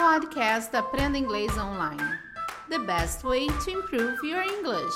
podcast Aprenda Inglês Online. The best way to improve your English.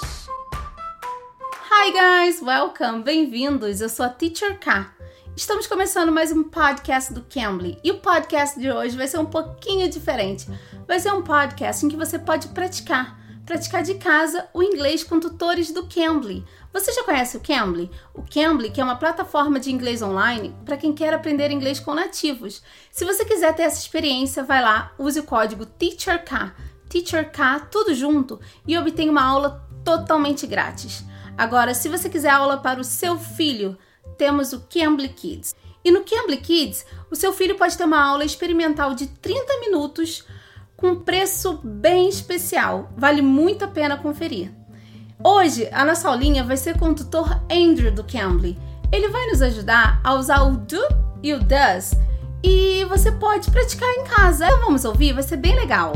Hi guys, welcome, bem-vindos. Eu sou a Teacher K. Estamos começando mais um podcast do Cambly e o podcast de hoje vai ser um pouquinho diferente. Vai ser um podcast em que você pode praticar de casa o inglês com tutores do Cambly. Você já conhece o Cambly? O Cambly, que é uma plataforma de inglês online para quem quer aprender inglês com nativos. Se você quiser ter essa experiência, vai lá, use o código TEACHERK, tudo junto, e obtenha uma aula totalmente grátis. Agora, se você quiser aula para o seu filho, temos o Cambly Kids. E no Cambly Kids, o seu filho pode ter uma aula experimental de 30 minutos com preço bem especial. Vale muito a pena conferir. Hoje, a nossa aulinha vai ser com o tutor Andrew do Cambly. Ele vai nos ajudar a usar o do e o does e você pode praticar em casa. Então vamos ouvir, vai ser bem legal.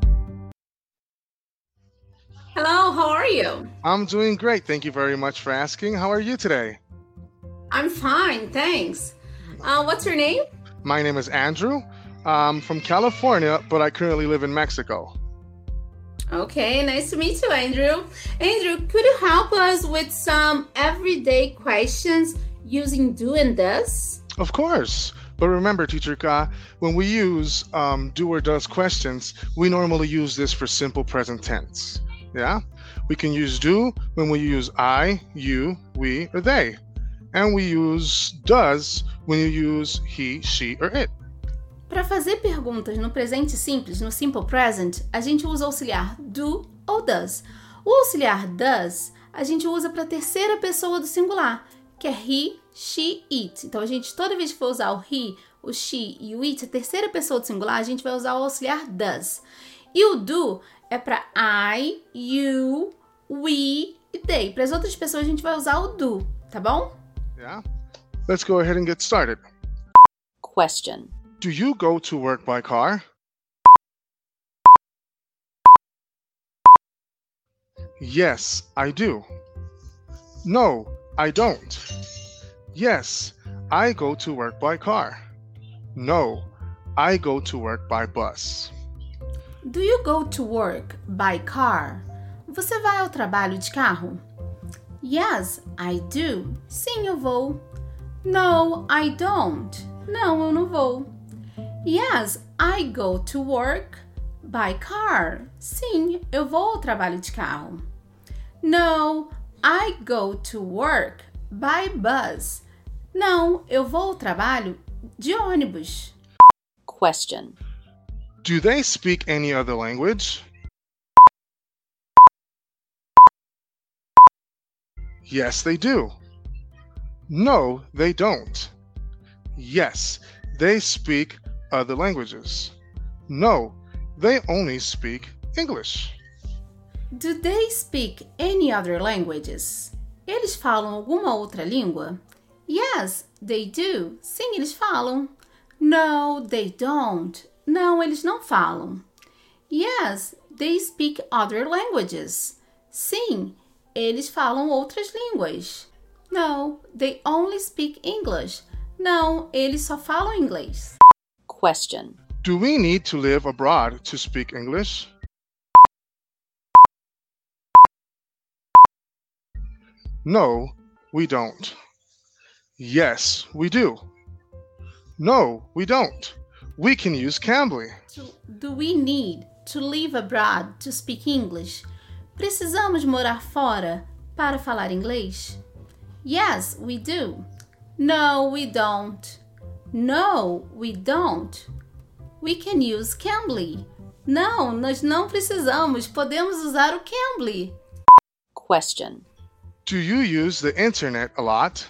Hello, how are you? I'm doing great. Thank you very much for asking. How are you today? I'm fine, thanks. What's your name? My name is Andrew. I'm from California, but I currently live in Mexico. Okay, nice to meet you, Andrew. Andrew, could you help us with some everyday questions using do and does? Of course. But remember, Teacher Ka, when we use do or does questions, we normally use this for simple present tense. Yeah? We can use do when we use I, you, we, or they. And we use does when you use he, she, or it. Para fazer perguntas no presente simples, no simple present, a gente usa o auxiliar do ou does. O auxiliar does a gente usa para a terceira pessoa do singular, que é he, she, it. Então, a gente, toda vez que for usar o he, o she e o it, a terceira pessoa do singular, a gente vai usar o auxiliar does. E o do é para I, you, we e they. Para as outras pessoas, a gente vai usar o do, tá bom? Yeah. Let's go ahead and get started. Question. Do you go to work by car? Yes, I do. No, I don't. Yes, I go to work by car. No, I go to work by bus. Do you go to work by car? Você vai ao trabalho de carro? Yes, I do. Sim, eu vou. No, I don't. Não, eu não vou. Yes, I go to work by car. Sim, eu vou ao trabalho de carro. No, I go to work by bus. Não, eu vou ao trabalho de ônibus. Question. Do they speak any other language? Yes, they do. No, they don't. Yes, they speak other languages. No, they only speak English. Do they speak any other languages? Eles falam alguma outra língua? Yes, they do. Sim, eles falam. No, they don't. Não, eles não falam. Yes, they speak other languages. Sim, eles falam outras línguas. No, they only speak English. Não, eles só falam inglês. Question. Do we need to live abroad to speak English? No, we don't. Yes, we do. No, we don't. We can use Cambly. Do we need to live abroad to speak English? Precisamos morar fora para falar inglês? Yes, we do. No, we don't. No, we don't. We can use Cambly. Não, nós não precisamos. Podemos usar o Cambly. Question. Do you use the internet a lot?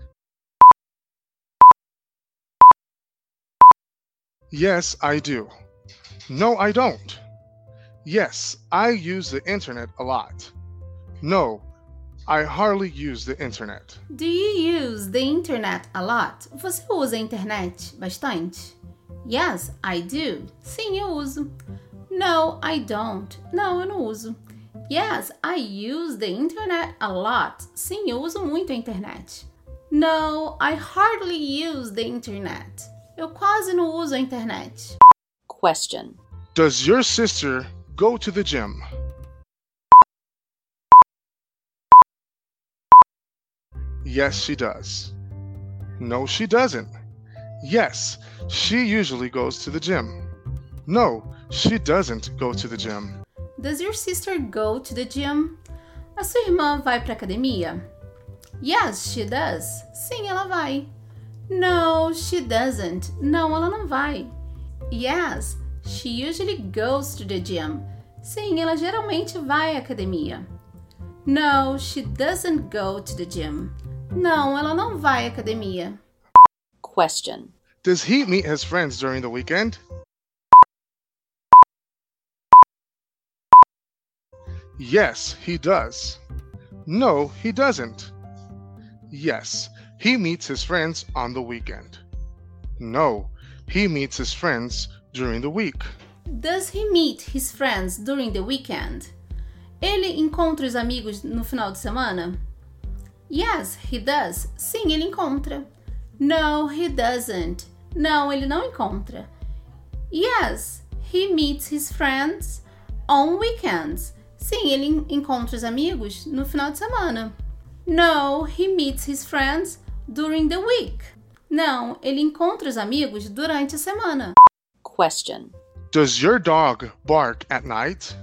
Yes, I do. No, I don't. Yes, I use the internet a lot. No, I hardly use the internet. Do you use the internet a lot? Você usa a internet bastante? Yes, I do. Sim, eu uso. No, I don't. Não, eu não uso. Yes, I use the internet a lot. Sim, eu uso muito a internet. No, I hardly use the internet. Eu quase não uso a internet. Question. Does your sister go to the gym? Yes, she does. No, she doesn't. Yes, she usually goes to the gym. No, she doesn't go to the gym. Does your sister go to the gym? A sua irmã vai para academia? Yes, she does. Sim, ela vai. No, she doesn't. Não, ela não vai. Yes, she usually goes to the gym. Sim, ela geralmente vai à academia. No, she doesn't go to the gym. Não, ela não vai à academia. Question. Does he meet his friends during the weekend? Yes, he does. No, he doesn't. Yes, he meets his friends on the weekend. No, he meets his friends during the week. Does he meet his friends during the weekend? Ele encontra os amigos no final de semana? Yes, he does. Sim, ele encontra. No, he doesn't. Não, ele não encontra. Yes, he meets his friends on weekends. Sim, ele encontra os amigos no final de semana. No, he meets his friends during the week. Não, ele encontra os amigos durante a semana. Question. Does your dog bark at night?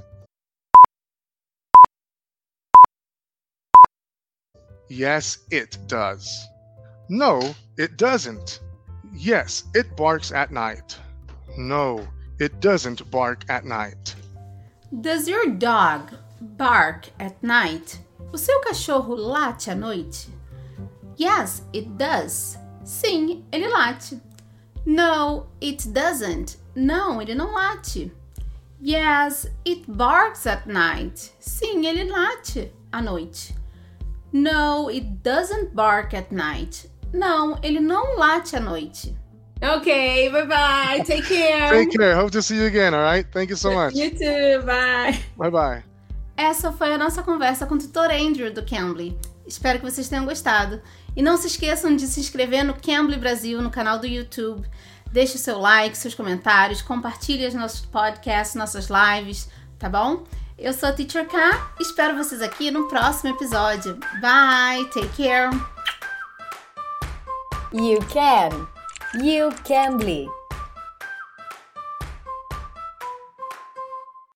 Yes, it does. No, it doesn't. Yes, it barks at night. No, it doesn't bark at night. Does your dog bark at night? O seu cachorro late à noite? Yes, it does. Sim, ele late. No, it doesn't. Não, ele não late. Yes, it barks at night. Sim, ele late à noite. No, it doesn't bark at night. Não, ele não late à noite. Okay, bye-bye. Take care. Take care. Hope to see you again, all right? Thank you so much. You too. Bye. Bye-bye. Essa foi a nossa conversa com o tutor Andrew do Cambly. Espero que vocês tenham gostado. E não se esqueçam de se inscrever no Cambly Brasil, no canal do YouTube. Deixe o seu like, seus comentários, compartilhe os nossos podcasts, nossas lives, tá bom? Eu sou a Teacher K, espero vocês aqui no próximo episódio. Bye, take care. You can. You Cambly.